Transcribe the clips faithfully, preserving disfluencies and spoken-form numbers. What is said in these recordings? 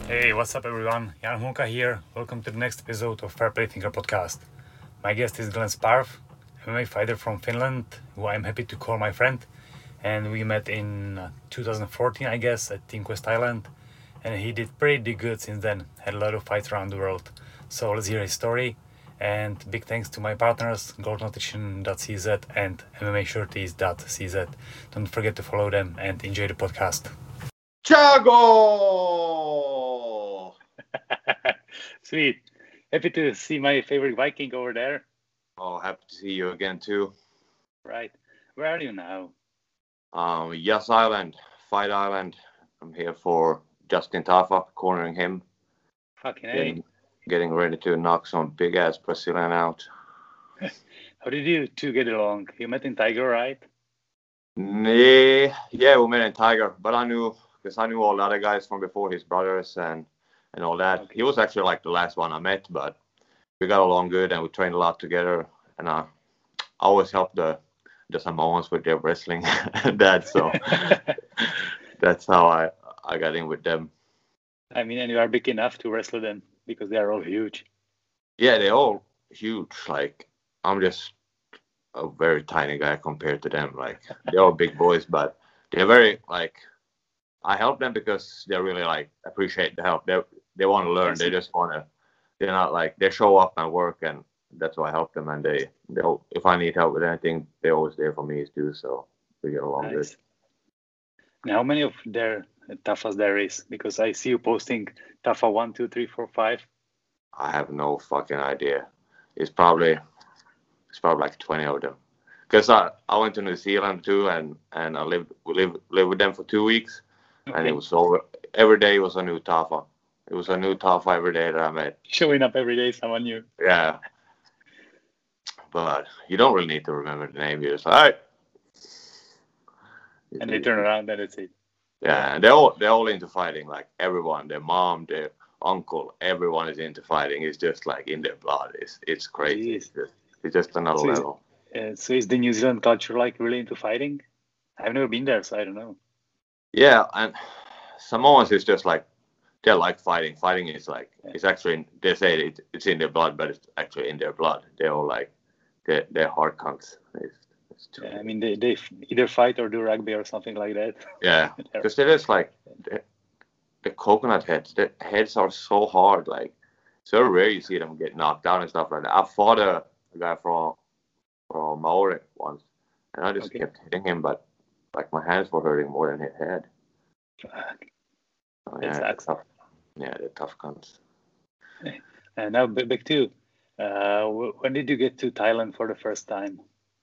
Hey, what's up, everyone? Jan Hunka here. Welcome to the next episode of Fair Play Thinker podcast. My guest is Glenn Sparv, M M A fighter from Finland, who I'm happy to call my friend. And we met in uh, two thousand fourteen, I guess, at Team Quest Thailand. And he did pretty good since then. Had a lot of fights around the world. So let's hear his story. And big thanks to my partners, gold nutrition dot c z and M M A shirties dot c z. Don't forget to follow them and enjoy the podcast. Chago! Sweet. Happy to see my favorite Viking over there. Oh, happy to see you again too. Right. Where are you now? Um, Yas Island, Fight Island. I'm here for Justin Tafa, cornering him. Fucking getting, getting ready to knock some big ass Brazilian out. How did you two get along? You met in Tiger, right? Nee, yeah, we met in Tiger, but I knew because I knew all the other guys from before, his brothers and and all that. Okay. He was actually like the last one I met, but we got along good and we trained a lot together. And I, I always helped the the Samoans with their wrestling and that, so that's how I I got in with them. I mean, and you are big enough to wrestle them because they are all huge. Yeah, they're all huge. Like I'm just a very tiny guy compared to them. Like they're all big boys, but they're very like. I help them because they really like appreciate the help. They they want to learn. They just want to. They're not like they show up and work, and that's why I help them. And they they if I need help with anything, they're always there for me too. So we get along Nice. good. Now, how many of their Tafas there is? Because I see you posting Tafa one, two, three, four, five. I have no fucking idea. It's probably it's probably like twenty of them. Because I, I went to New Zealand too, and, and I lived we lived lived with them for two weeks. Okay. And it was over. Every day was a new Tafa. It was a new Tafa every day that I met. Showing up every day, someone new. Yeah. But you don't really need to remember the name. You're just like, all right. And they turn around and that's it. Yeah, and they're all they're all into fighting. Like everyone, their mom, their uncle, everyone is into fighting. It's just like in their blood. It's it's crazy. It's just, it's just another So is- level. Uh, so is the New Zealand culture like really into fighting? I've never been there, so I don't know. Yeah, and Samoans is just like they like fighting. Fighting is like it's actually they say it, it's in their blood, but it's actually in their blood. They're all like they're, they're hard cunts. It's, it's too, Yeah, I mean, they, they f- either fight or do rugby or something like that. yeah, because they're just like the, the coconut heads. The heads are so hard. Like so rare you see them get knocked out and stuff like that. I fought a, a guy from from Maori once, and I just Okay. kept hitting him, but like my hands were hurting more than his head. Fuck. So, That yeah, they're sucks. tough. Yeah, they're tough cunts. And now b- back to uh, w- when did you get to Thailand for the first time?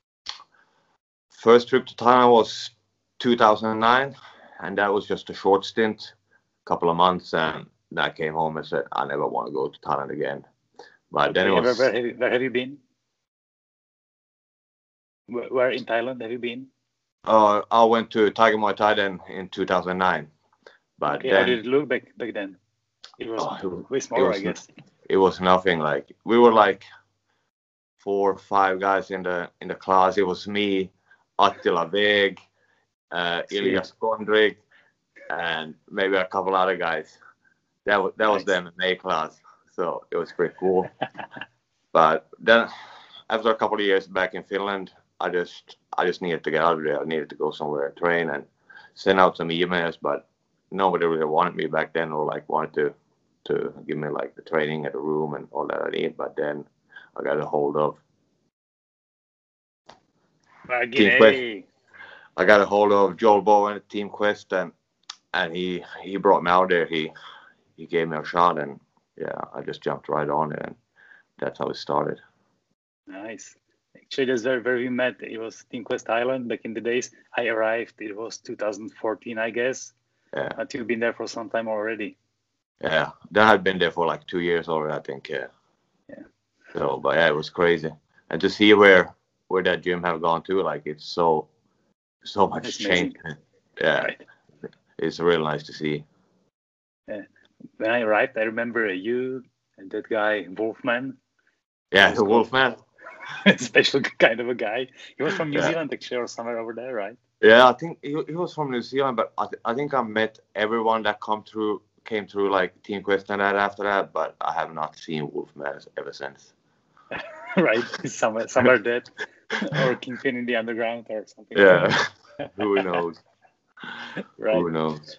First trip to Thailand was two thousand nine, and that was just a short stint, couple of months, and then I came home and said I never want to go to Thailand again. But then it Okay, where, was where, have you, where have you been? Where, where in Thailand have you been? uh, I went to Tiger Muay Thai then in two thousand nine, but Okay, how then did it look back back then? It was Oh, it was- way smaller, was I guess. it was nothing. Like we were like four or five guys in the in the class. It was me, Attila Veg, uh, Sweet. Ilya Skondrik, and maybe a couple other guys. That was that was the Nice. M M A class, so it was pretty cool. But then, after a couple of years back in Finland, I just I just needed to get out of there. I needed to go somewhere and train and send out some emails, but nobody really wanted me back then, or like wanted to to give me like the training at the room and all that I need. But then I got a hold of Team Quest. Hey. I got a hold of Joel Bowen at Team Quest, and and he he brought me out there. He he gave me a shot, and yeah, I just jumped right on it, and that's how it started. Nice. Actually, that's where, where we met. It was Team Quest Island back in the days. I arrived, it was two thousand fourteen, I guess. Yeah, But you've been there for some time already. yeah. Then I'd been there for like two years already, I think. Yeah. Yeah. So, but yeah, it was crazy, and to see where where that gym have gone to, like it's so so much That's change. Yeah, Right. it's really nice to see. When I arrived, I remember you and that guy, Wolfman, Yeah, That's the cool. Wolfman. special kind of a guy. He was from New Yeah. Zealand, actually, or somewhere over there, right? Yeah, I think he, he was from New Zealand, but I, th- I think I met everyone that come through came through like Team Quest and that after that, but I have not seen Wolfman ever since. Right, somewhere somewhere dead, or Kingpin in the underground or something. Yeah, who knows? Right. Who knows?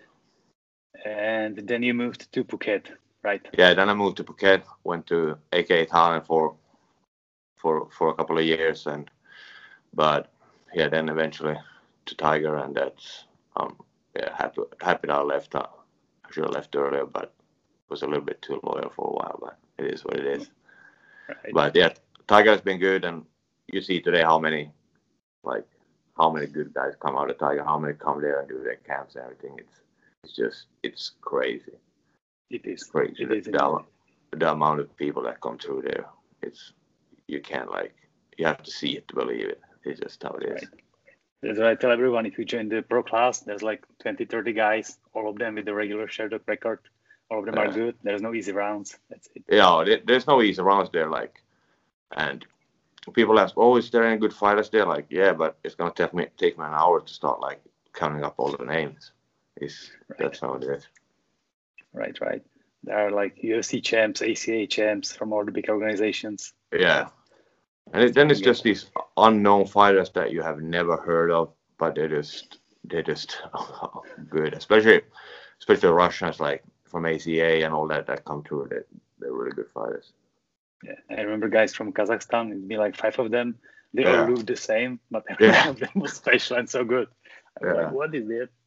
And then you moved to Phuket, right? Yeah, then I moved to Phuket, went to A K Thailand for for for a couple of years, and but yeah, then eventually to Tiger, and that's um yeah happy happy that I left. I should have left earlier, but was a little bit too loyal for a while. But it is what it is. Right. But yeah, Tiger has been good, and you see today how many like how many good guys come out of Tiger, how many come there and do their camps and everything. It's it's just it's crazy. It is crazy. It is The, the, the amount of people that come through there, it's you can't like you have to see it to believe it. It's just how it is. Right. That's what I tell everyone. If you join the pro class, there's like twenty, thirty guys, all of them with the regular Sherdog record. All of them Yeah. are good. There's no easy rounds. That's it. Yeah, there, there's no easy rounds there. Like, and people ask, "Oh, is there any good fighters there?" Like, yeah, but it's gonna take me take me an hour to start like counting up all the names. It's Right. That's how it is. Right, right. There are like U F C champs, A C A champs from all the big organizations. Yeah, and it, then it's Yeah. just these unknown fighters that you have never heard of, but they're just they're just good. Especially especially Russians like from A C A and all that that come through. They they're really good fighters. Yeah, I remember guys from Kazakhstan. It'd be like five of them. They Yeah. all look the same, but every Yeah. one of them was special and so good. I was Yeah. like, what is it?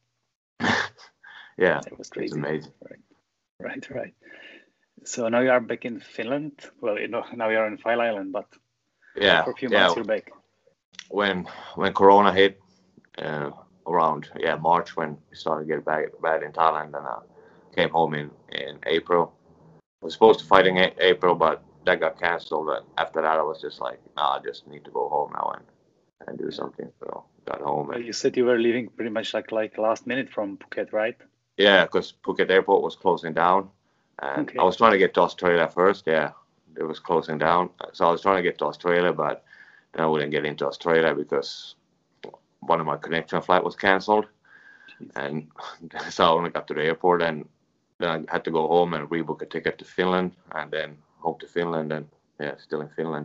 Yeah, It was it's crazy. amazing. Right, right. So now you are back in Finland. Well, you know, now you are on File Island, but Yeah, for a few yeah. months you're back. When when Corona hit uh, around yeah March, when we started getting back bad in Thailand, and I came home in in April. I was supposed to fight in a- April, but that got cancelled. And after that, I was just like, nah, I just need to go home now and and do something. So got home. Well, And, you said you were leaving pretty much like like last minute from Phuket, right? yeah, because Phuket Airport was closing down, and Okay. I was trying to get to Australia first. Yeah, it was closing down, so I was trying to get to Australia, but then I wouldn't get into Australia because one of my connection flight was cancelled, Jeez. and so I only got to the airport, and then I had to go home and rebook a ticket to Finland, and then home to Finland, and yeah, still in Finland.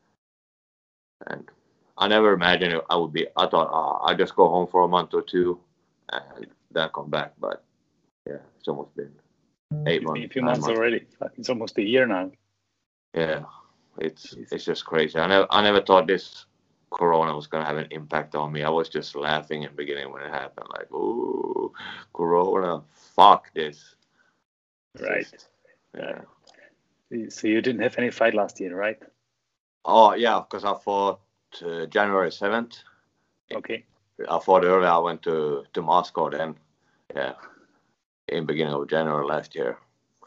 And I never imagined I would be. I thought, oh, I'd just go home for a month or two, and then come back. But yeah, it's almost been eight It's months. been a few nine months already. Like, it's almost a year now. Yeah, it's Jeez. it's just crazy. I never I never thought this Corona was gonna have an impact on me. I was just laughing in the beginning when it happened, like, ooh, Corona, fuck this. It's Right. just- yeah. So you didn't have any fight last year, right? Oh yeah, because I fought uh, January seventh. Okay. I fought early. I went to to Moscow then. Yeah, in beginning of January last year.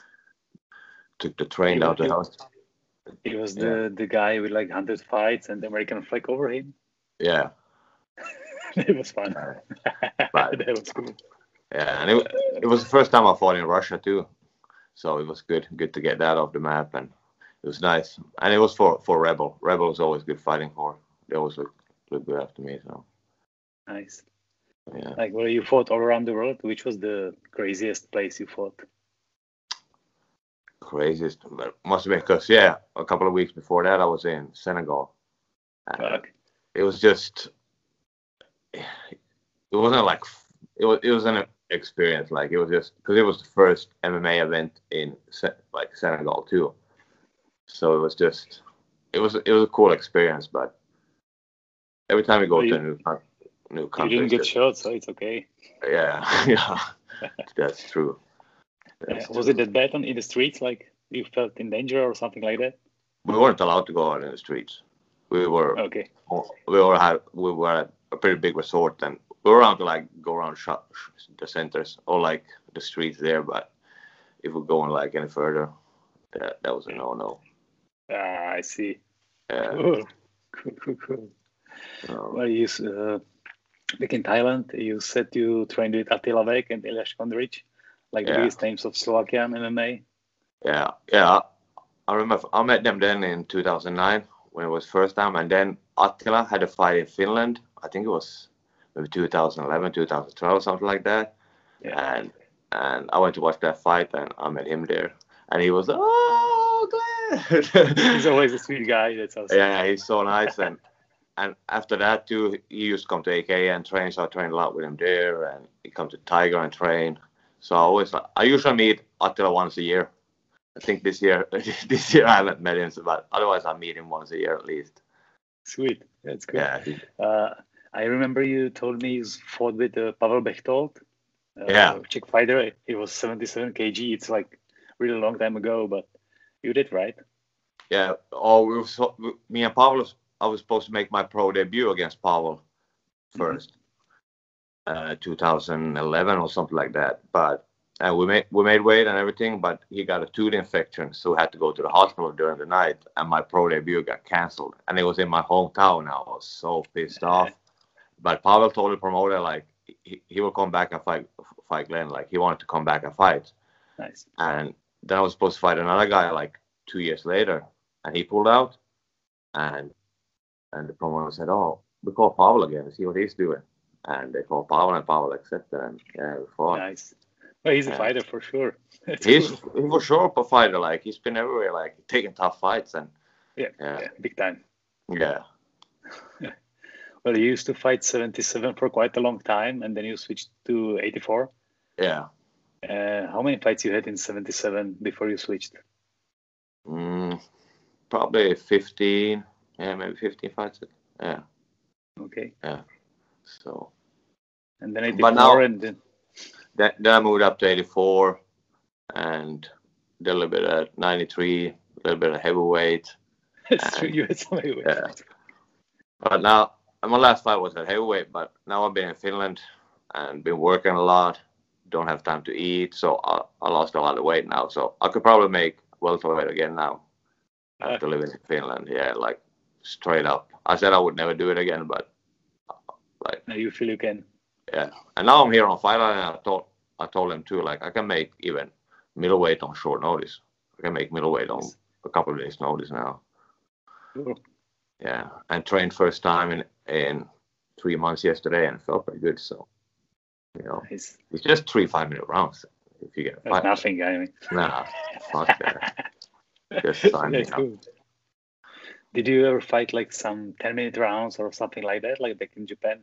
Took the train You- down to you- house. He was the the guy with like one hundred fights and the American flag over him. Yeah, It was fun. Right. That was cool. yeah, and it it was the first time I fought in Russia too, so it was good good to get that off the map, and it was nice. And it was for for Rebel. Rebel was always good fighting for. They always look look good after me. So Nice. yeah, Like, well, you fought all around the world. Which was the craziest place you fought? craziest. But must have been because yeah, a couple of weeks before that I was in Senegal. And Fuck. it was just it wasn't like it was it was an experience. Like it was just because it was the first M M A event in Se- like Senegal too. So it was just it was it was a cool experience. But every time you go Well, to you- a new coun- new You country, didn't it's get just- shot, so it's okay. yeah, yeah, that's true. Yeah. That's Was true. it that bad on in the streets? Like you felt in danger or something like that? We weren't allowed to go out in the streets. We were Okay. we all had we were at a pretty big resort, and we were allowed to like go around shop, the centers or like the streets there. But if we're going like any further, that that was a no no. Ah, I see. Yeah. Cool. Cool, cool, cool. So, Well, you uh, back in Thailand, you said you trained with Attila Vek and Elias Kondric, like the Yeah. biggest names of Slovakian M M A. yeah, yeah. I remember I met them then in two thousand nine when it was first time, and then Attila had a fight in Finland. I think it was maybe two thousand eleven, two thousand twelve, something like that. Yeah. And and I went to watch that fight, and I met him there, and he was oh Glenn. He's always a sweet guy. That's awesome. Yeah, he's so nice, and and after that too, he used to come to A K and train, so I trained a lot with him there, and he come to Tiger and train. So I always, I usually meet Attila once a year. I think this year, this year I haven't met him, but otherwise I meet him once a year at least. Sweet, that's good. Yeah. Uh, I remember you told me you fought with uh, Pavel Bechtold. Uh, Yeah. Czech fighter. It was seventy-seven kilograms. It's like really long time ago, but you did, right? Yeah. Oh, we were so, me and Pavel, I was supposed to make my pro debut against Pavel first, mm-hmm. uh, two thousand eleven or something like that. But and we made we made weight and everything, but he got a tooth infection, so had to go to the hospital during the night, and my pro debut got canceled. And it was in my hometown. I was so pissed off. But Pavel told the promoter like he, he will come back and fight fight Glenn. Like he wanted to come back and fight. Nice. And then I was supposed to fight another guy like two years later, and he pulled out. And and the promoter said, "Oh, we call Pavel again and see what he's doing." And they called Pavel, and Pavel accepted. And yeah, we fought. Nice. Well, he's a yeah. fighter for sure. That's he's cool. for sure a fighter. Like he's been everywhere, like taking tough fights and yeah, yeah, yeah big time. Yeah. Well, you used to fight seventy-seven for quite a long time, and then you switched to eighty-four. Yeah. Uh, how many fights you had in seventy-seven before you switched? Mm, probably fifteen. Yeah, maybe fifteen fights. Yeah. Okay. Yeah. So. And then eighty-four, but now, and then. Then, then I moved up to eighty-four, and did a little bit of ninety-three, a little bit of heavyweight. That's true. You had some heavyweight. Yeah. But now, my last fight was at heavyweight, but now I've been in Finland and been working a lot. Don't have time to eat, so I, I lost a lot of weight now. So I could probably make welterweight again now after uh, living in Finland. Yeah, like straight up. I said I would never do it again, but like. Now you feel you can. Yeah, and now I'm here on Fight Island, and I told I told them too, like I can make even middleweight on short notice. I can make middleweight on a couple of days' notice now. Cool. Yeah, and trained first time in in three months yesterday, and it felt pretty good. So, you know, nice. It's just three five minute rounds if you get a fight. That's nothing, I mean. Nah, fuck that. Just sign me That's up. Cool. Did you ever fight like some ten minute rounds or something like that, like back in Japan?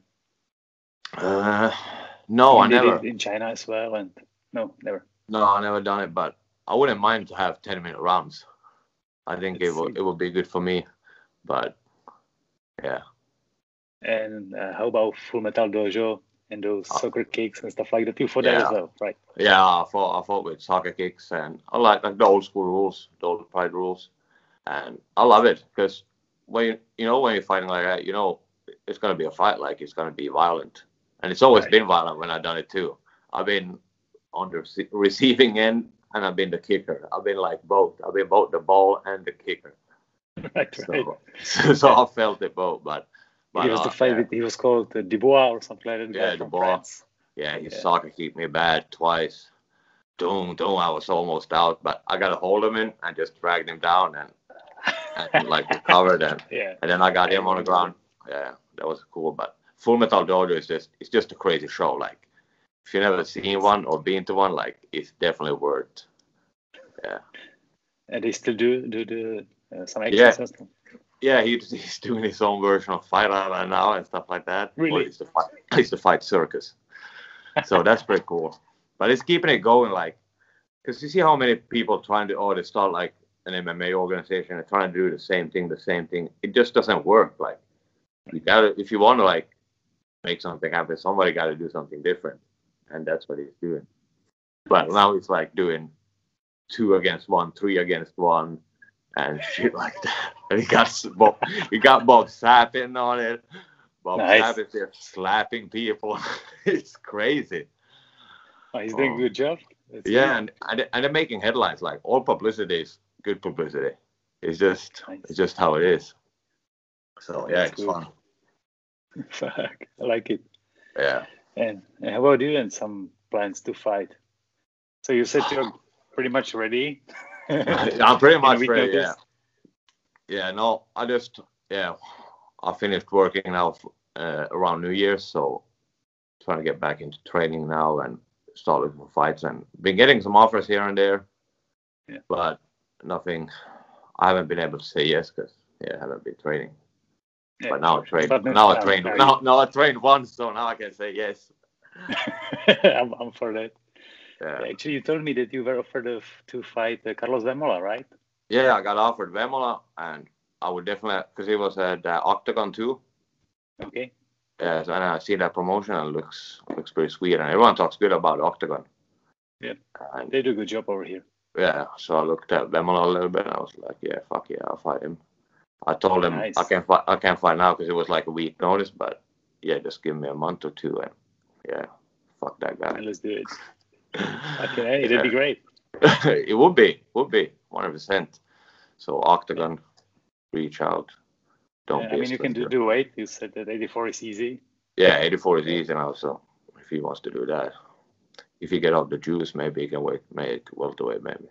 Uh, no, I never. In China as well, and no, never. No, I never done it, but I wouldn't mind to have ten minute rounds. I think Let's it will see. it will be good for me, but yeah. And uh, how about Full Metal Dojo and those uh, soccer kicks and stuff like that? You fought yeah. that as well, right? Yeah, I fought I fought with soccer kicks, and I like like the old school rules, the old Pride rules, and I love it because when you, you know when you're fighting like that, you know it's gonna be a fight, like it's gonna be violent. And it's always right. been violent when I've done it too. I've been on the receiving end and I've been the kicker. I've been like both. I've been both the ball and the kicker. Right, so, right. So, so I felt it both. But, but he was uh, the fight. yeah. With, he was called uh, Dubois or something like that. Yeah, Dubois. Yeah, his yeah. soccer kicked me bad twice. Doom, doom. I was almost out, but I got a hold of him and just dragged him down and, and like recovered and yeah. and then I got him on the ground. Yeah, that was cool. But Full Metal Dojo is just it's just a crazy show. Like if you've never seen one or been to one, like it's definitely worth. Yeah. And they still do do the uh, some action yeah. system. Yeah, he, he's doing his own version of Fight Island now and stuff like that. Really? It's the fight, it's the fight circus. So that's pretty cool. But it's keeping it going, like, because you see how many people trying to, or they start like an M M A organization and trying to do the same thing, the same thing. It just doesn't work. Like, you gotta, if you want to like make something happen, somebody got to do something different, and that's what he's doing. But now he's like doing two against one, three against one, and shit like that. And he got Bob, he got Bob Sapp in on it. Bob nice. Sapp is there slapping people. It's crazy. Oh, he's doing um, a good job. That's yeah, cool. and, and and they're making headlines. Like all publicity is good publicity. It's just nice. It's just how it is. So yeah, That's it's cool. fun. Fuck, I like it. Yeah. And, and how about you? And some plans to fight? So you said you're pretty much ready. I'm pretty much ready. Yeah. Yeah. No, I just yeah, I finished working now uh, around New Year's, so trying to get back into training now and start looking for fights, and been getting some offers here and there, yeah. but nothing. I haven't been able to say yes because yeah, I haven't been training. Yeah, but now I sure. train. But Now I um, train. now Now, now I trained once, so now I can say yes. I'm, I'm for that. Yeah. Actually, you told me that you were offered of, to fight uh, Carlos Vemola, right? Yeah, I got offered Vemola, and I would definitely because he was at uh, Octagon too. Okay. Yeah, so, and I see that promotion and it looks looks pretty sweet, and everyone talks good about Octagon. Yeah, and, they do a good job over here. Yeah, so I looked at Vemola a little bit, and I was like, yeah, fuck yeah, I'll fight him. I told him Nice. I can't fight. I can't fight now because it was like a week notice, but yeah, just give me a month or two, and yeah, fuck that guy. Let's do it. Okay, yeah. That'd be great. It would be, would be one hundred percent. So Octagon, yeah. Reach out. Don't yeah, be I mean, you can do, do weight. You said that eighty-four is easy. Yeah, eighty-four is easy now. So if he wants to do that, if he get out the juice, maybe he can wait, make welterweight, maybe.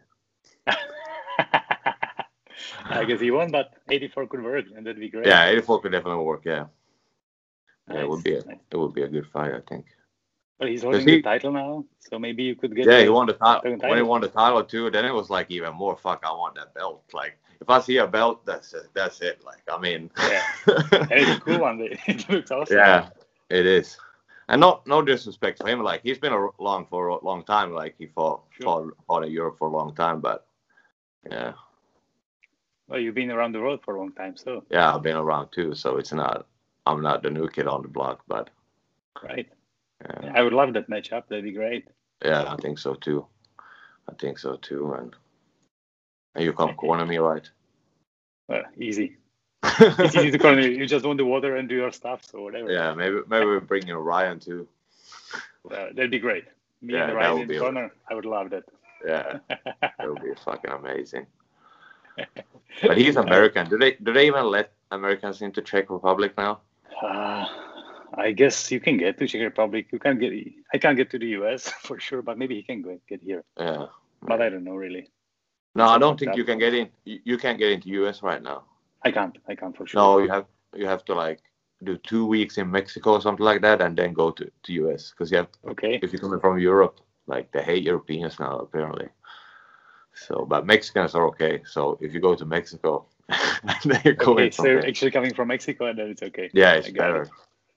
I guess he won't, but eighty-four could work, and that'd be great. Yeah, eighty-four could definitely work. Yeah, nice. yeah, it would be a, nice. it would be a good fight, I think. But he's holding he, the title now, so maybe you could get. Yeah, the, he won the title. title. When he won the title too, then it was like even more. Fuck, I want that belt. Like if I see a belt, that's it. That's it. Like I mean, yeah, and it's a cool one. It looks awesome. Yeah, it is. And no, no disrespect to him. Like he's been along for a long time. Like he fought, sure. fought, fought in Europe for a long time. But yeah. Well, you've been around the world for a long time, so. Yeah, I've been around too. So it's not. I'm not the new kid on the block, but. Right. Yeah. I would love that matchup. That'd be great. Yeah, I think so too. I think so too. And, and you come corner me, right? Well, easy. It's easy to corner you. You just want the water and do your stuff, so whatever. Yeah, maybe maybe we bring in Ryan too. Uh, that'd be great. Me yeah, and Ryan in the corner. A... I would love that. Yeah, that would be fucking amazing. But he's American. Do they do they even let Americans into Czech Republic now? Uh, I guess you can get to Czech Republic. You can get. I can't get to the U S for sure, but maybe he can go, get here. Yeah, but I don't know really. No, I don't think you can get in. You, you can't get into U S right now. I can't. I can't for sure. No, you have you have to like do two weeks in Mexico or something like that, and then go to to U S because you have. Okay. If you're coming from Europe, like they hate Europeans now apparently. So, but Mexicans are okay. So if you go to Mexico, then you're going. Okay, so you're actually coming from Mexico, and then it's okay. Yeah, it's better.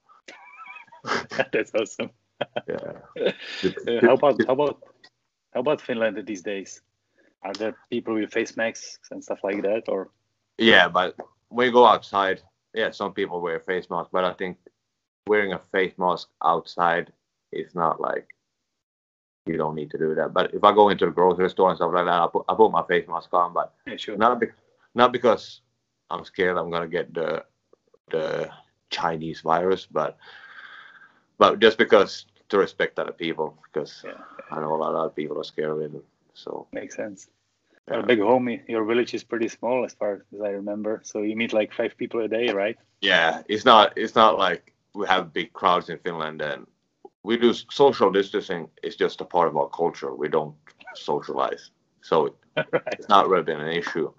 It. That's awesome. Yeah. uh, how about how about how about Finland these days? Are there people with face masks and stuff like that, or? Yeah, but when you go outside, yeah, some people wear face masks, but I think wearing a face mask outside is not like. You don't need to do that. But if I go into the grocery store and stuff like that, I put I put my face mask on. But yeah, sure. not be, not because I'm scared I'm gonna get the the Chinese virus, but but just because to respect other people, because yeah. I know a lot of people are scared of it. So makes sense. Yeah. Well, big home, your village is pretty small as far as I remember. So you meet like five people a day, right? Yeah, it's not it's not like we have big crowds in Finland and. We do social distancing. It's just a part of our culture. We don't socialize, so right. It's not really been an issue.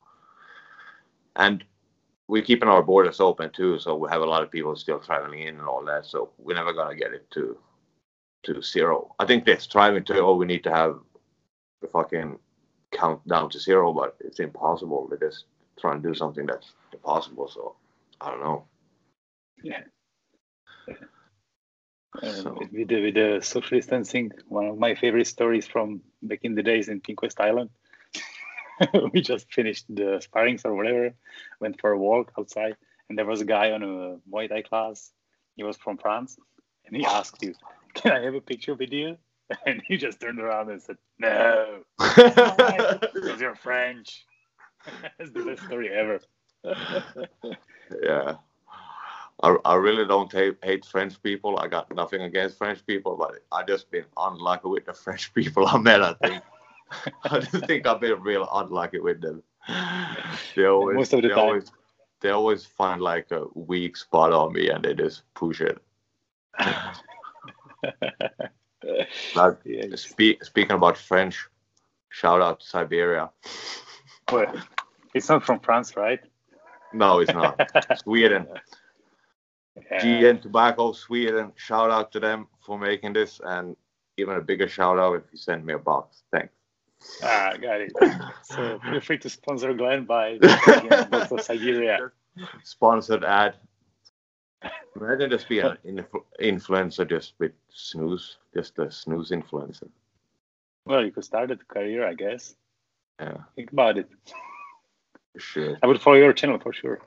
And we're keeping our borders open too, so we have a lot of people still traveling in and all that. So we're never gonna get it to to zero. I think they're striving to. Oh, we need to have the fucking count down to zero, but it's impossible. They're just trying to do something that's impossible. So I don't know. Yeah. yeah. Uh, so. with, the, with the social distancing, one of my favorite stories from back in the days in King West Island. We just finished the sparrings or whatever, went for a walk outside, and there was a guy on a Muay Thai class. He was from France, and he asked you, "Can I have a picture with you?" And he just turned around and said, "No, because you're French." That's the best story ever. Yeah. I, I really don't hate, hate French people. I got nothing against French people, but I just been unlucky with the French people I met, I think. I just think I've been real unlucky with them. They always, Most of the they time. Always, they always find like a weak spot on me and they just push it. Like, yes. speak, speaking about French, shout out to Siberia. Well, it's not from France, right? No, it's not. Sweden. Yeah. G N Tobacco Sweden, shout out to them for making this, and even a bigger shout out if you send me a box. Thanks. Ah, got it. So feel free to sponsor Glenn by box of Siberia. Sponsored ad. Imagine just being an influ- influencer just with snooze, just a snooze influencer. Well, you could start a career, I guess. Yeah. Think about it. Sure. I would follow your channel for sure.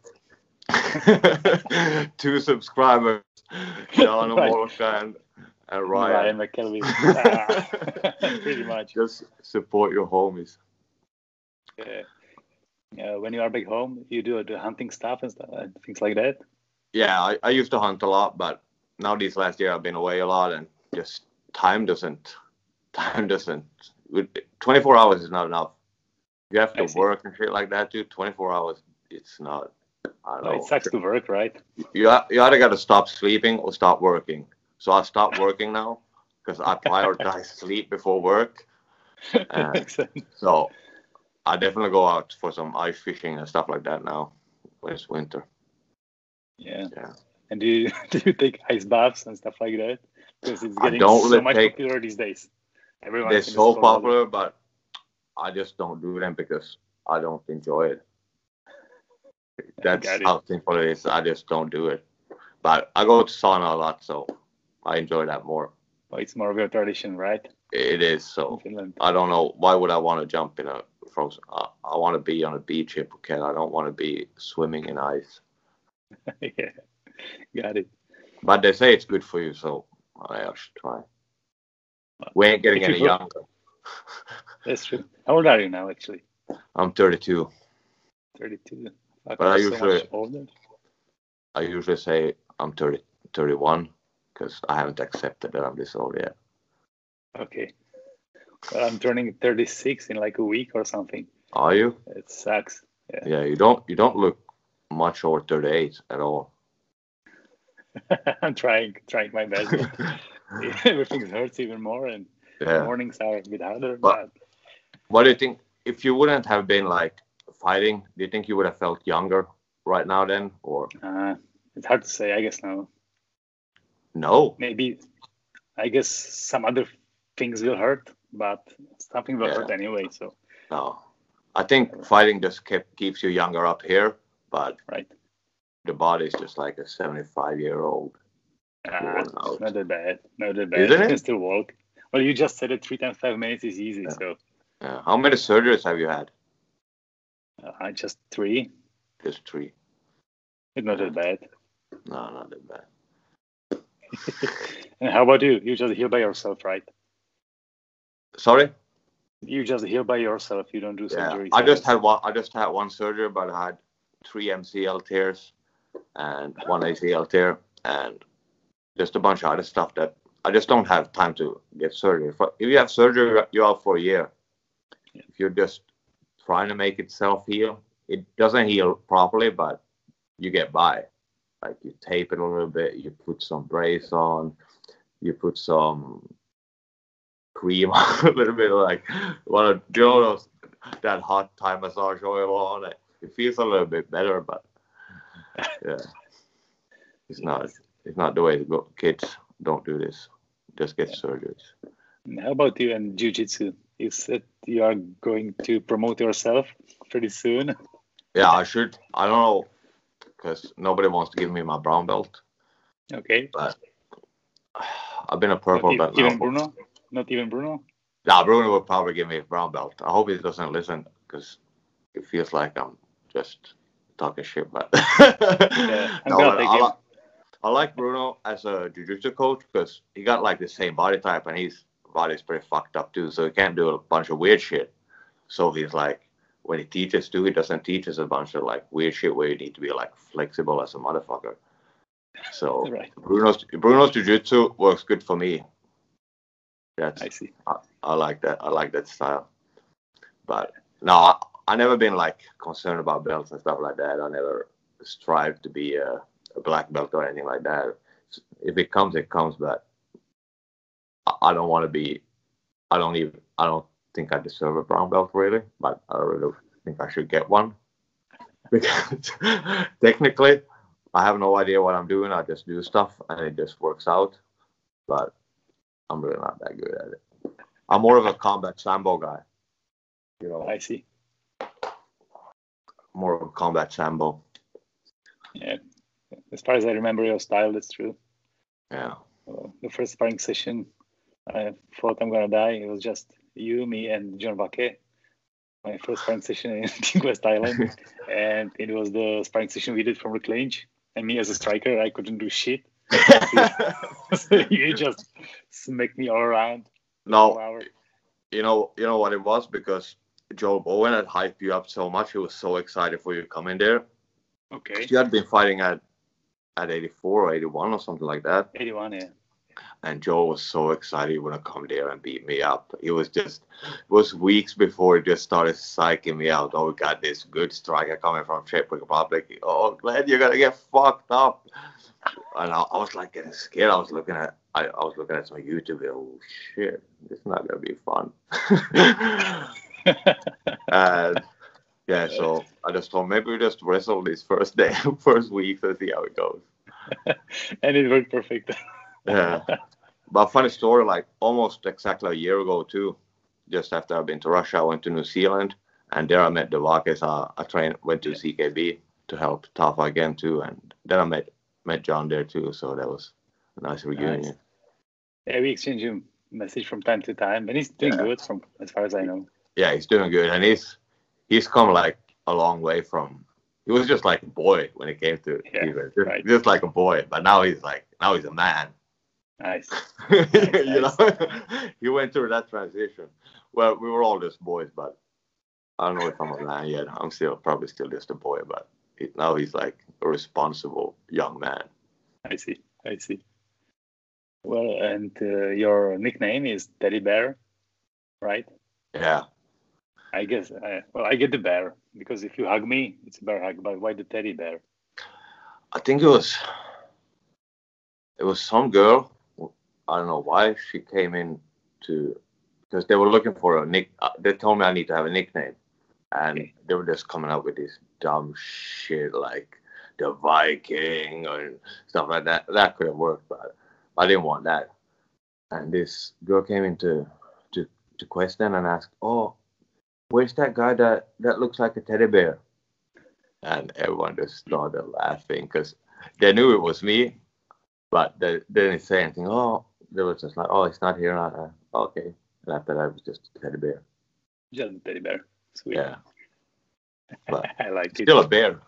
Two subscribers, Jan Right. Molka and, and Ryan Ryan. McKelvey. Ah, pretty much. Just support your homies. Uh, uh, when you are back home, you do the hunting stuff and stuff, and things like that. Yeah, I, I used to hunt a lot, but now these last year I've been away a lot, and just time doesn't, time doesn't. twenty-four hours is not enough. You have I to see. work and shit like that, too. twenty-four hours, it's not. I don't Well, know. it sucks to work, right? You, you either got to stop sleeping or stop working. So I stopped working now because I prioritize sleep before work. And Makes sense. so I definitely go out for some ice fishing and stuff like that now when it's winter. Yeah. Yeah. And do you do you take ice baths and stuff like that? Because it's I getting don't so really much take- popular these days. Everyone They're is in the so cold weather. popular, but I just don't do them because I don't enjoy it. That's Got it. how simple it is. I just don't do it. But I go to sauna a lot, so I enjoy that more. Well, it's more of your tradition, right? It is, In so Finland. I don't know. Why would I want to jump in a frozen? I, I want to be on a beach in Phuket. I don't want to be swimming in ice. Yeah. Got it. But they say it's good for you, so I should try. We ain't getting If you any go- younger. That's true. How old are you now, actually? I'm thirty-two. thirty-two. Fuck, But I you're so usually- much older. I usually say I'm thirty, thirty-one because I haven't accepted that I'm this old yet. Okay. Well, I'm turning thirty-six in like a week or something. Are you? It sucks. Yeah. Yeah, you don't. You don't look much over thirty-eight at all. I'm trying, trying my best. But everything hurts even more, and Yeah. mornings are a bit harder. But- But What do you think? If you wouldn't have been like fighting, do you think you would have felt younger right now then, or uh, it's hard to say. I guess no. no? Maybe. I guess some other things will hurt, but something will Yeah. hurt anyway. So No. I think fighting just kept, keeps you younger up here, but right. the body's just like a seventy-five year old. Ah, Worn out. not that bad. Not that bad. Isn't You it? can still walk. Well, you just said it three times five minutes is easy. Yeah. So Yeah. How many surgeries have you had? uh, I just three. Just three. It's not that bad. No, not that bad. And how about you? You just heal by yourself, right? Sorry? You just heal by yourself. You don't do Yeah. surgery. I just had one. I just had one surgery, but I had three M C L tears and one A C L tear and just a bunch of other stuff that I just don't have time to get surgery. If if you have surgery, you're out for a year. Yeah. If you're just trying to make it self heal, it doesn't heal properly, but you get by. Like you tape it a little bit, you put some brace on, you put some cream on a little bit, like one of you know those, that hot Thai massage oil on it. It feels a little bit better, but yeah, it's not. It's not the way to go. Kids, don't do this. Just get Yeah. surgeries. And how about you and jiu-jitsu? You said you are going to promote yourself pretty soon. Yeah, I should. I don't know, because nobody wants to give me my brown belt. Okay. But I've been a Not purple e- belt even now. Bruno? Not even Bruno? Yeah, Bruno will probably give me a brown belt. I hope he doesn't listen because it feels like I'm just talking shit. But Yeah, I'm no, gonna but take I, him. li- I like Bruno as a jiu-jitsu coach because he got like the same body type and his body's pretty fucked up too. So he can't do a bunch of weird shit. So he's like, when he teaches too, he doesn't teach us a bunch of like weird shit where you need to be like flexible as a motherfucker. So Right. Bruno's Bruno's jiu-jitsu works good for me. That's I see. I, I like that. I like that style. But no, I, I never been like concerned about belts and stuff like that. I never strive to be a, a black belt or anything like that. If it comes, it comes. But I, I don't want to be. I don't even. I don't think I deserve a brown belt really. But I really think I should get one because technically, I have no idea what I'm doing. I just do stuff and it just works out. But I'm really not that good at it. I'm more of a combat sambo guy. You know. I see. More of a combat sambo. Yeah. As far as I remember your style, that's true. Yeah. Uh, the first sparring session, I thought I'm gonna die. It was just you, me, and John Vake. My first sparring session in King West Island, and it was the sparring session we did from Reclange. And me as a striker, I couldn't do shit. So you just smacked me all around. No, you know, you know what it was, because Joel Bowen had hyped you up so much. He was so excited for you to come in there. Okay. You had been fighting at at eighty-four or eighty-one or something like that. eighty-one, yeah. And Joel was so excited he would to come there and beat me up. It was just, it was weeks before he just started psyching me out. Oh, we got this good striker coming from Czech Republic. Oh, Glenn, you're gonna get fucked up. And I, I was like getting scared. I was looking at, I, I was looking at some YouTube. Oh shit, this is not gonna be fun. And yeah, so I just thought maybe we just wrestle this first day, first week, and see how it goes. And it worked perfect. Yeah. But funny story, like almost exactly a year ago too, just after I've been to Russia, I went to New Zealand, and there I met the Vakes. I, I trained, went to C K B to help Tafa again too, and then I met met John there too, so that was a nice reunion. Nice. Yeah, we exchange a message from time to time, and he's doing Yeah. good from as far as I know. Yeah, he's doing good, and he's he's come like a long way from. He was just like a boy when it came to Yeah, Cuba, just, right. just like a boy, but now he's like now he's a man. Nice. You know, he went through that transition. Well, we were all just boys, but I don't know if I'm a man yet. I'm still probably still just a boy, but it, now he's like a responsible young man. I see. I see. Well, and uh, your nickname is Teddy Bear, right? Yeah. I guess. Uh, well, I get the bear because if you hug me, it's a bear hug. But why the teddy bear? I think it was it was some girl. I don't know why she came in to because they were looking for a nick. Uh, they told me I need to have a nickname, and Okay. they were just coming up with this dumb shit like the Viking or stuff like that. That could have worked, but I didn't want that. And this girl came into to to question and asked, "Oh, where's that guy that that looks like a teddy bear?" And everyone just started laughing because they knew it was me, but they, they didn't say anything. Oh, they were just like, "Oh, he's not here." Uh, okay. And after that, it was just a teddy bear. Just a teddy bear. Sweet. Yeah. But I like it. still a bear.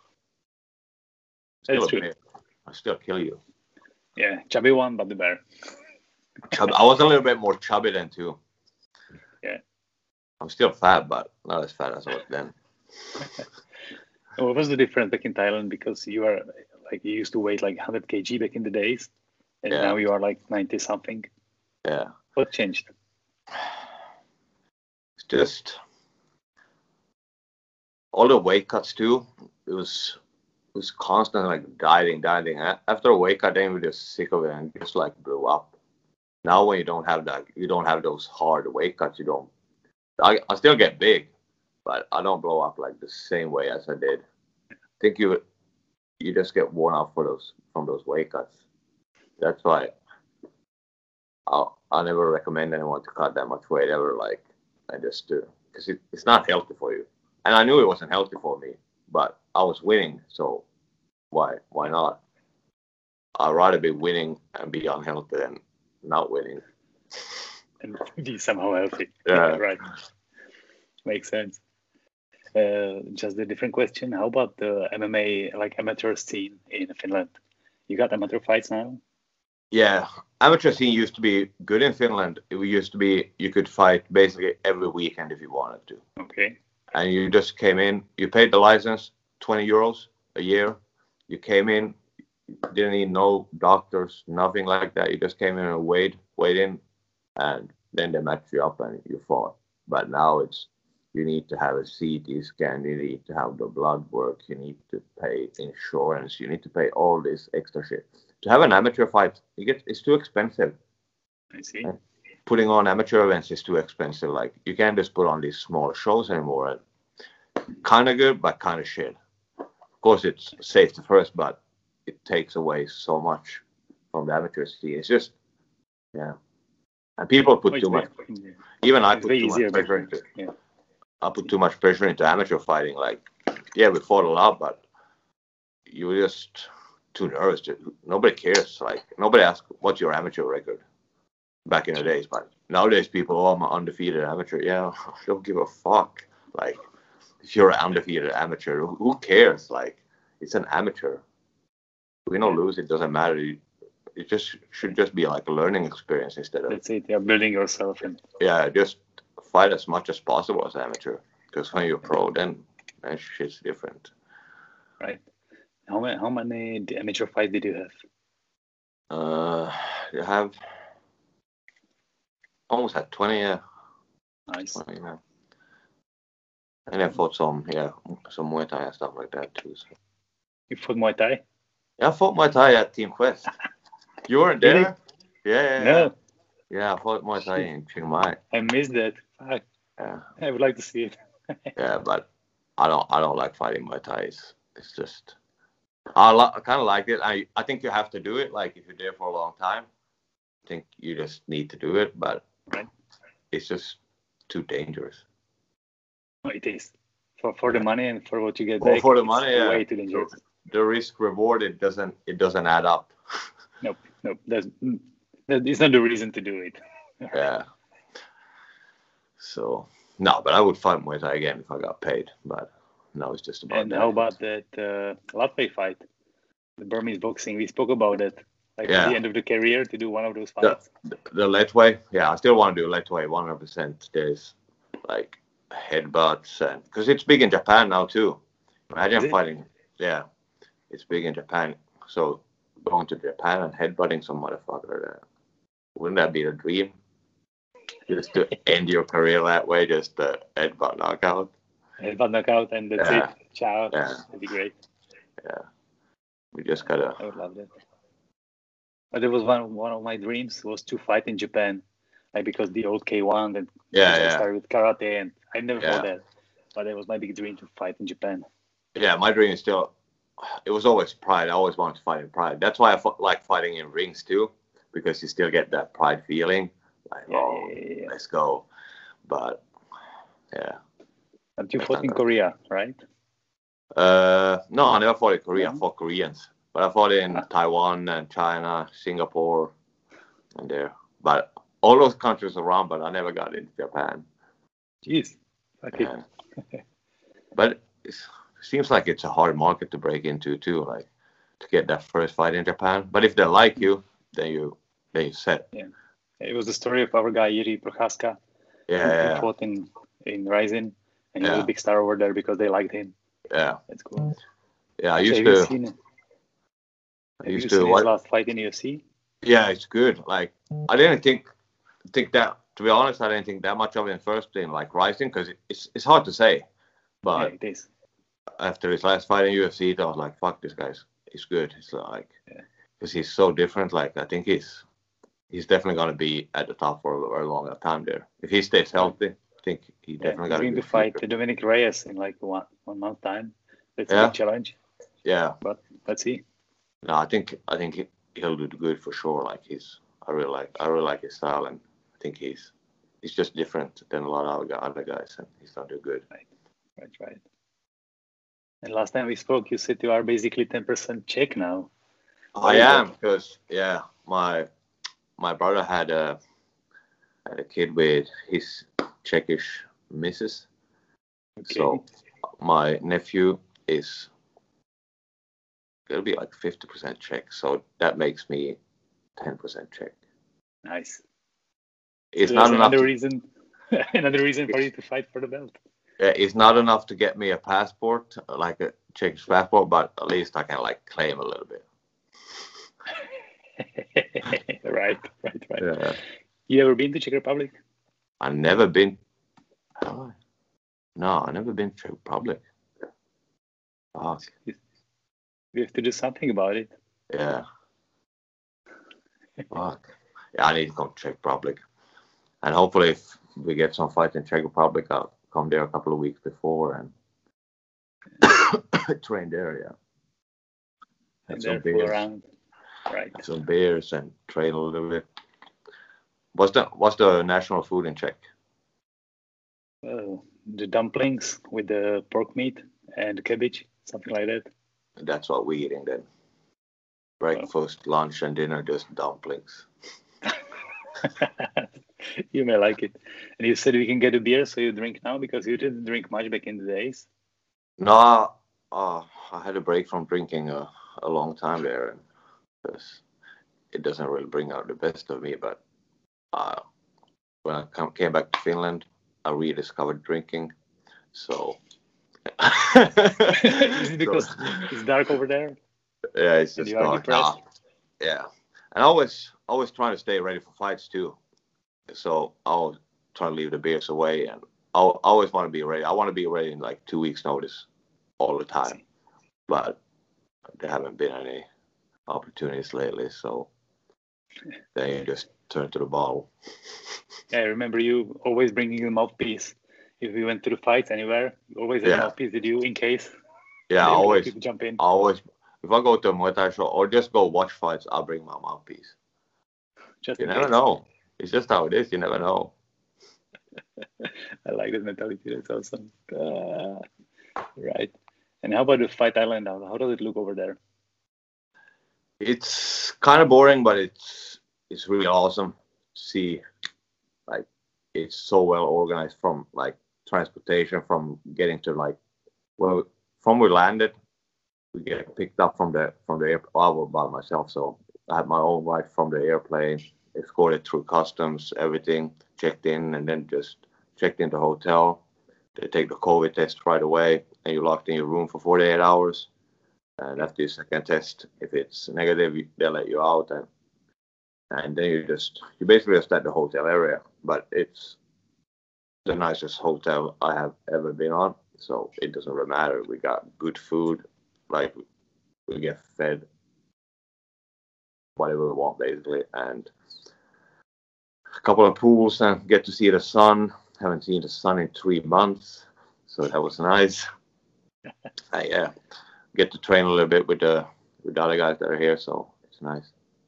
Still That's a true. bear. I still kill you. Yeah, chubby one, but the bear. Chub- I was a little bit more chubby then too. Yeah. I'm still fat, but not as fat as I was then. What was the difference back in Thailand? Because you are like you used to weigh like one hundred kilograms back in the days, and Yeah. now you are like ninety something. Yeah. What changed? It's just all the weight cuts too. It was it was constant like dieting, dieting. A- After a weight cut, then we were just sick of it and just like blew up. Now when you don't have that, you don't have those hard weight cuts. You don't. I I still get big, but I don't blow up like the same way as I did. I think you you just get worn out for those from those weight cuts. That's why I I never recommend anyone to cut that much weight ever. Like I just do because it, it's not healthy for you. And I knew it wasn't healthy for me, but I was winning, so why why not? I'd rather be winning and be unhealthy than not winning. And be somehow healthy. Yeah. Right. Makes sense. Uh, just a different question. How about the M M A, like amateur scene in Finland? You got amateur fights now? Yeah, amateur scene used to be good in Finland. It used to be you could fight basically every weekend if you wanted to. Okay. And you just came in, you paid the license, twenty euros a year. You came in, didn't need no doctors, nothing like that. You just came in and weighed, weighed in, and then they matched you up and you fought. But now it's, you need to have a C T scan, you need to have the blood work, you need to pay insurance, you need to pay all this extra shit. To have an amateur fight, you get it's too expensive. I see. Putting on amateur events is too expensive. Like you can't just put on these small shows anymore. Kind of good, but kind of shit. Of course, it's safety first, but it takes away so much from the amateur scene. It's just, yeah, And people put Oh, too much. way, Even I it's put way too easier, much pressure into. yeah. I put too much pressure into amateur fighting. Like, yeah, we fought a lot, but you were just too nervous. To, nobody cares. Like, nobody asks what's your amateur record. Back in the days, but nowadays people, oh, I'm an undefeated amateur. Yeah, I don't give a fuck. Like, if you're an undefeated amateur, who cares? Like, it's an amateur. Win or lose, it doesn't matter. It just should just be like a learning experience instead of. That's it. You're building yourself, and yeah, just fight as much as possible as amateur. Because when you're pro, then that shit's different. Right. How many how many amateur fights did you have? Uh, you have almost had twenty. Yeah. Nice. twenty, yeah. And I fought some, yeah, some Muay Thai and stuff like that too. So. You fought Muay Thai? Yeah, I fought Muay Thai at Team Quest. You weren't there? Really? Yeah, yeah, No. yeah. Yeah, I fought Muay Thai in Chiang Mai. I missed that. Fuck. Yeah. I would like to see it. Yeah, but I don't, I don't like fighting Muay Thai. It's, it's just, I, lo- I kind of like it. I, I think you have to do it. Like if you're there for a long time, I think you just need to do it. But right. It's just too dangerous. Oh, it is. For for the money and for what you get well, back. For the money, it's yeah. Way too dangerous. The, the risk reward, it doesn't, it doesn't add up. Nope, nope. That's, it's not the reason to do it. Yeah. So no, but I would fight Muay Thai again if I got paid. But no, it's just about. And that. how about that uh, Latve fight, the Burmese boxing? We spoke about it. Like yeah. at the end of the career to do one of those fights. The, the Letway, yeah, I still want to do Letway one hundred percent. There's like headbutts and because it's big in Japan now too. Imagine fighting. Yeah, it's big in Japan. So going to Japan and headbutting some motherfucker, uh, wouldn't that be a dream? Just to end your career that way, just the headbutt knockout. Headbutt knockout, and that's yeah. it. Ciao. Yeah. That'd be great. Yeah. We just gotta. I would love that. But it was one one of my dreams was to fight in Japan, like because the old K one and yeah, I yeah. started with karate, and I never yeah. fought that. But it was my big dream to fight in Japan. Yeah, my dream is still. It was always Pride. I always wanted to fight in Pride. That's why I fought, like fighting in rings too, because you still get that Pride feeling. Like, yeah, oh, yeah, yeah, yeah. let's go. But yeah. But you fought in Korea, right? Uh, no, I never fought in Korea. No? I fought Koreans, but I fought in Ah. Taiwan and China, Singapore, and there. But all those countries around, but I never got into Japan. Jeez. Okay. Yeah. But it seems like it's a hard market to break into too, like to get that first fight in Japan. But if they like you, then you then you set. Yeah. It was the story of our guy Yuri Prochaska. Yeah, who, yeah, who fought in in Rising, and he Yeah. was a big star over there because they liked him. yeah, That's cool. yeah. I Actually, used have you to. seen, I have used you to seen his what? last fight in U F C? Yeah, it's good. Like I didn't think think that. To be honest, I didn't think that much of it in first in like Rising because it's it's hard to say. But Yeah, it is. after his last fight in U F C, I was like, "Fuck, this guy's he's good." It's like because Yeah. he's so different. Like I think he's he's definitely gonna be at the top for a very long time there. If he stays healthy, I think he Yeah, definitely he's got a going to good fight future. Dominic Reyes in like one one month time. That's a Yeah. big challenge, Yeah, but let's see. no, I think I think he, he'll do good for sure. Like he's I really like I really like his style, and I think he's he's just different than a lot of other other guys, and he's gonna do good. Right, right. And last time we spoke, you said you are basically ten percent Czech now. I am because yeah, my my brother had a had a kid with his Czechish missus. Okay. So my nephew is gonna be like fifty percent Czech. So that makes me ten percent Czech. Nice. It's So not that's enough. another To, reason. Another reason for you to fight for the belt. uh, it's not enough to get me a passport, like a Czech passport, but at least I can like claim a little bit. right, right, right. Yeah. You ever been to Czech Republic? I've never been. Have I? No, I've never been to Czech Republic. Oh, We have to do something about it. yeah. Fuck. Yeah, I need to come to Czech Republic. And hopefully if we get some fight in Czech Republic, I'll come there a couple of weeks before and train there, yeah. And Have some there, fool beers. around. Right. Have some beers and train a little bit. What's the what's the national food in Czech? Uh, the dumplings with the pork meat and cabbage, something like that. That's what we're eating then. Breakfast, lunch, and dinner, just dumplings. You may like it. And you said we can get a beer, so you drink now because you didn't drink much back in the days. No, uh, I had a break from drinking a, a long time there, and because it doesn't really bring out the best of me. But uh, when I come, came back to Finland, I rediscovered drinking. So Is it because so, it's dark over there? Yeah, it's And just you are dark depressed? now. Yeah, and I always always trying to stay ready for fights too. So I'll try to leave the beers away, and I'll, I always want to be ready. I want to be ready in like two weeks' notice all the time, but there haven't been any opportunities lately. So then you just turn to the bottle. Yeah, I remember you always bringing the mouthpiece. If we went to the fights anywhere, you always had Yeah. a mouthpiece. Did you in case? Yeah, I they would always, like to jump in. I always, if I go to a Muay Thai show or just go watch fights, I'll bring my mouthpiece. Just You in never case. know. It's just how it is. You never know. I like that mentality. That's awesome. Uh, right. And how about the Fight Island? How, how does it look over there? It's kind of boring, but it's it's really awesome to see. Like, it's so well organized from like transportation, from getting to like well from we landed, we get picked up from the from the airport. I was by myself, so I had my own ride from the airplane, escorted through customs, everything, checked in, and then just checked into the hotel. They take the COVID test right away, and you're locked in your room for forty-eight hours. And after your second test, if it's negative, they let you out, and and then you just you basically just at the hotel area. But it's the nicest hotel I have ever been on, so it doesn't really matter. We got good food, like we get fed whatever we want basically, and a couple of pools and get to see the sun. Haven't seen the sun in three months, so that was nice. uh, yeah, get to train a little bit with the with the other guys that are here, so it's nice.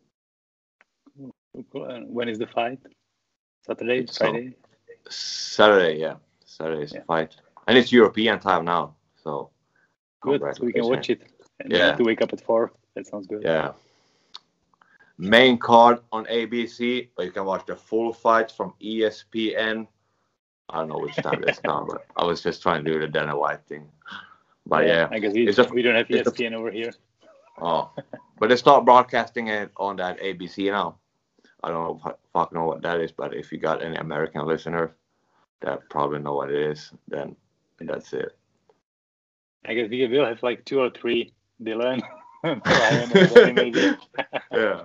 When is the fight? Saturday, It's Friday? So, Saturday, yeah. Saturday is Yeah. the fight. And it's European time now, so Good, so we can watch it. And you Yeah. need to wake up at four. That sounds good. Yeah. Main card on A B C, but you can watch the full fight from E S P N. I don't know which time it's on, but I was just trying to do the Dana White thing. But yeah, I guess we, it's a- we don't have E it's S a- P N over here. oh, but they start broadcasting it on that A B C now. I don't know if I fuck know what that is, but if you got any American listeners that probably know what it is, then that's it. I guess we will have like two or three Dylan, Ryan, or Danny maybe. Yeah.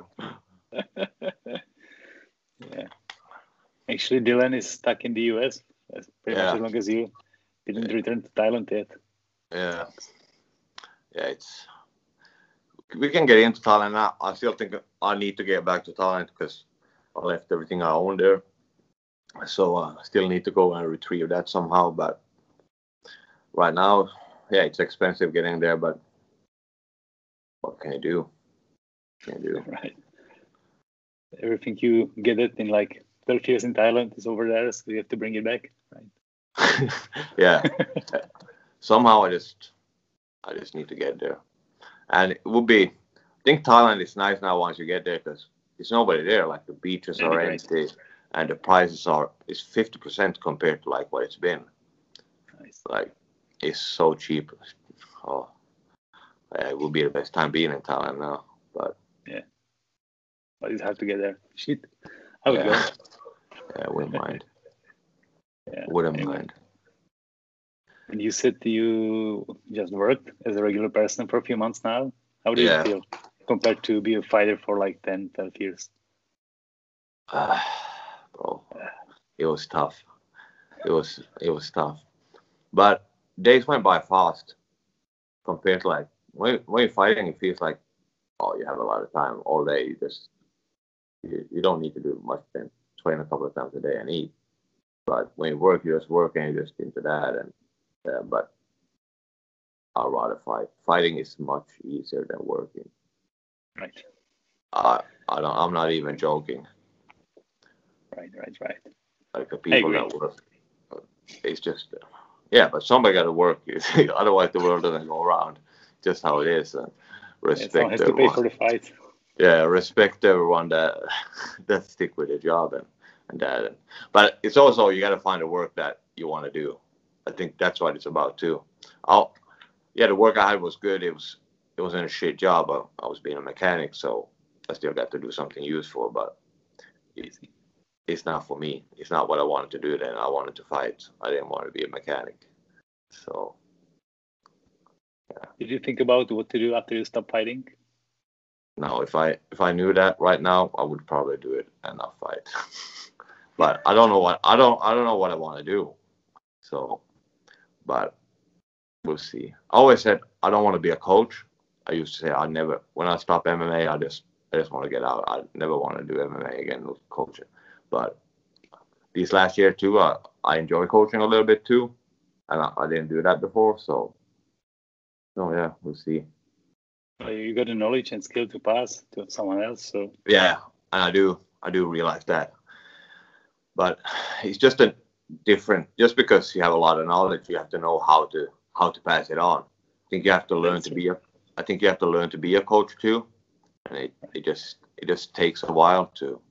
Yeah. Actually, Dylan is stuck in the U S as pretty Yeah. much as long as you didn't return to Thailand yet. Yeah. Yeah, it's. We can get into Thailand now. I still think I need to get back to Thailand because I left everything I own there. So uh, I still need to go and retrieve that somehow. But right now, yeah, it's expensive getting there. But what can you do? What can you do? Right. Everything you get it in like twelve years in Thailand is over there, so you have to bring it back. Right. Yeah. Somehow I just, I just need to get there. And it would be, I think Thailand is nice now once you get there because there's nobody there. Like the beaches That'd be are great. empty and the prices are, it's fifty percent compared to like what it's been. Nice. Like, it's so cheap. Oh, yeah, it will be the best time being in Thailand now. But But it's hard to get there. Shit. I would yeah, go. yeah, I wouldn't mind. Yeah. Wouldn't Anyway. mind. And you said you just worked as a regular person for a few months now. How did Yeah. it feel compared to be a fighter for like ten, twelve years? Ah, bro, it was tough. It was it was tough. But days went by fast compared to like when when you're fighting, it feels like oh you have a lot of time all day. You just you, you don't need to do much then train a couple of times a day and eat. But when you work, you just work and you just into that and uh, but I'd rather fight. Fighting is much easier than working. Right. I I don't I'm not even joking. Right, right, right. Like the people that work, it's just yeah. But somebody got to work. Otherwise, the world doesn't go around. Just how it is. And respect yeah, someone has everyone. to pay for the fight. Yeah, respect everyone that that stick with their job and and that. But it's also you got to find the work that you want to do. I think that's what it's about too. I'll, yeah, the work I had was good. It was it wasn't a shit job. I, I was being a mechanic, so I still got to do something useful. But it, it's not for me. It's not what I wanted to do then. I wanted to fight. I didn't want to be a mechanic. So, yeah. Did you think about what to do after you stop fighting? No, if I if I knew that right now, I would probably do it and not fight. But I don't know what I don't I don't know what I want to do. So, but we'll see. I always said I don't want to be a coach. I used to say I never. When I stop M M A, I just I just want to get out. I never want to do M M A again with coaching. But these last year too, I, I enjoy coaching a little bit too, and I, I didn't do that before. So, so yeah, we'll see. Well, you got the knowledge and skill to pass to someone else. So yeah, and I do I do realize that. But it's just a different. Just because you have a lot of knowledge, you have to know how to how to pass it on. I think you have to learn That's to true. be a. I think you have to learn to be a coach too, and it, it just it just takes a while to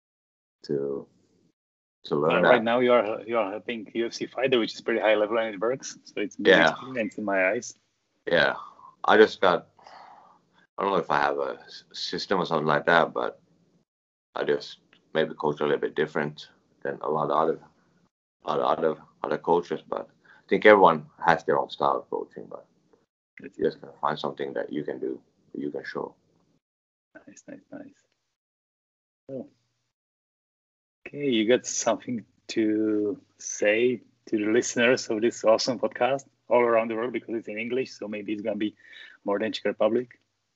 to to learn well, that. Right now, you are you are helping U F C fighter, which is pretty high level and it works. So it's big yeah. experience in my eyes. Yeah, I just got. I don't know if I have a system or something like that, but I just maybe coach a little bit different than a lot of other, other, other, other coaches. But I think everyone has their own style of coaching. But you just gotta find something that you can do, that you can show. Nice, nice, nice. Oh. Okay, you got something to say to the listeners of this awesome podcast all around the world because it's in English, so maybe it's gonna be more than Czech Republic.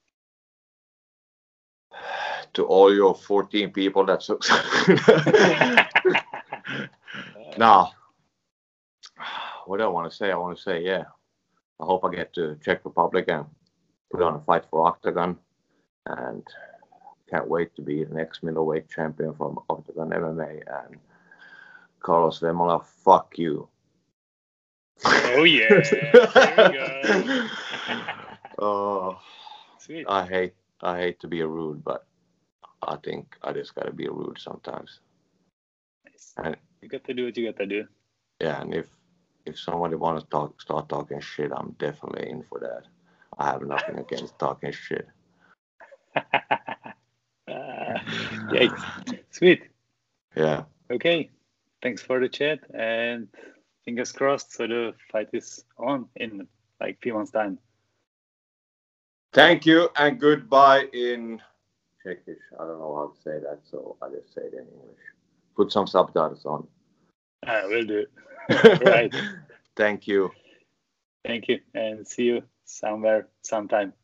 To all your fourteen people that sucks. No. What do I want to say? I want to say, yeah. I hope I get to Czech Republic and put on a fight for Octagon. And can't wait to be the next middleweight champion from Octagon M M A. And Carlos Vemola, fuck you. Oh, yeah. There we go. Oh, sweet. I hate, I hate to be a rude, but I think I just gotta be rude sometimes. Nice. And you got to do what you got to do. Yeah, and if if somebody wants to talk, start talking shit, I'm definitely in for that. I have nothing against talking shit. uh, yeah, sweet. Yeah. Okay. Thanks for the chat and fingers crossed. So the fight is on in like three months' time. Thank you and goodbye in Czechish. I don't know how to say that, so I just say it in English. Put some subtitles on. I will do it. Right. Thank you. Thank you, and see you somewhere, sometime.